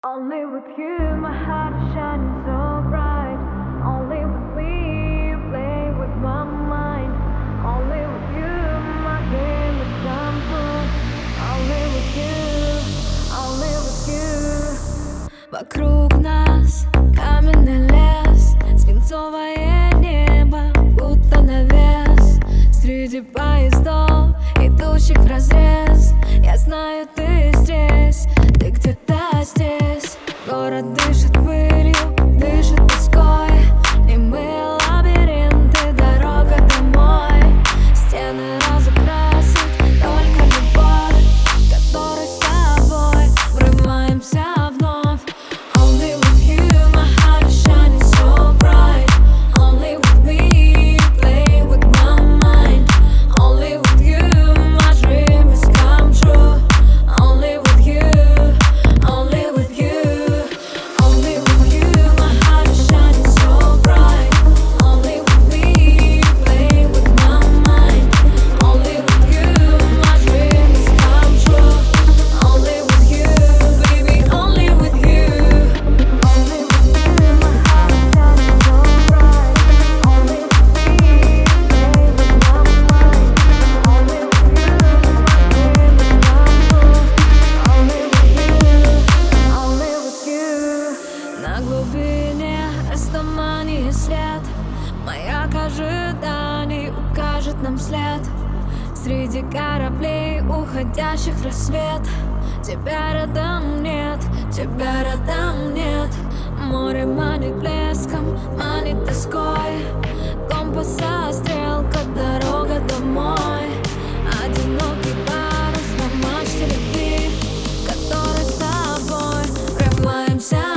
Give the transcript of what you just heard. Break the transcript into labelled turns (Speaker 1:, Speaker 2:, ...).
Speaker 1: Only with you, my heart is shining so bright. Only with me, play with my mind. Only with you, my dream is come true. Only with you, only with you.
Speaker 2: Вокруг нас каменный лес, свинцовое небо, будто навес. Среди поездов, идущих вразрез, я знаю, ты здесь, ты где-то здесь. Город дышит пылью, дышит тоской, немые лабиринты, дорога домой. Стены разукрасит только любовь, которой с тобой врываемся вновь. Only with you, my heart is shining so bright. Only with me, play with my mind. Only with you, my dream has come true. Only with you, only with you. Only with you, my heart is shining so bright. Only with me, play with my mind. Only with you, my dream has come true. Only with you, baby, only with you.
Speaker 1: Only with you, my heart is shining so bright. Only with me, play with my mind. Only with you, my dream is come true. Only with you, only with you.
Speaker 2: На глубине растуманье свет, маяк ожиданий укажет нам след. Среди кораблей, уходящих в рассвет, тебя рядом нет, тебя рядом нет. Море манит блеском, манит тоской, компаса стрелка, дорога домой. Одинокий парус на мачте любви, который с тобой врываемся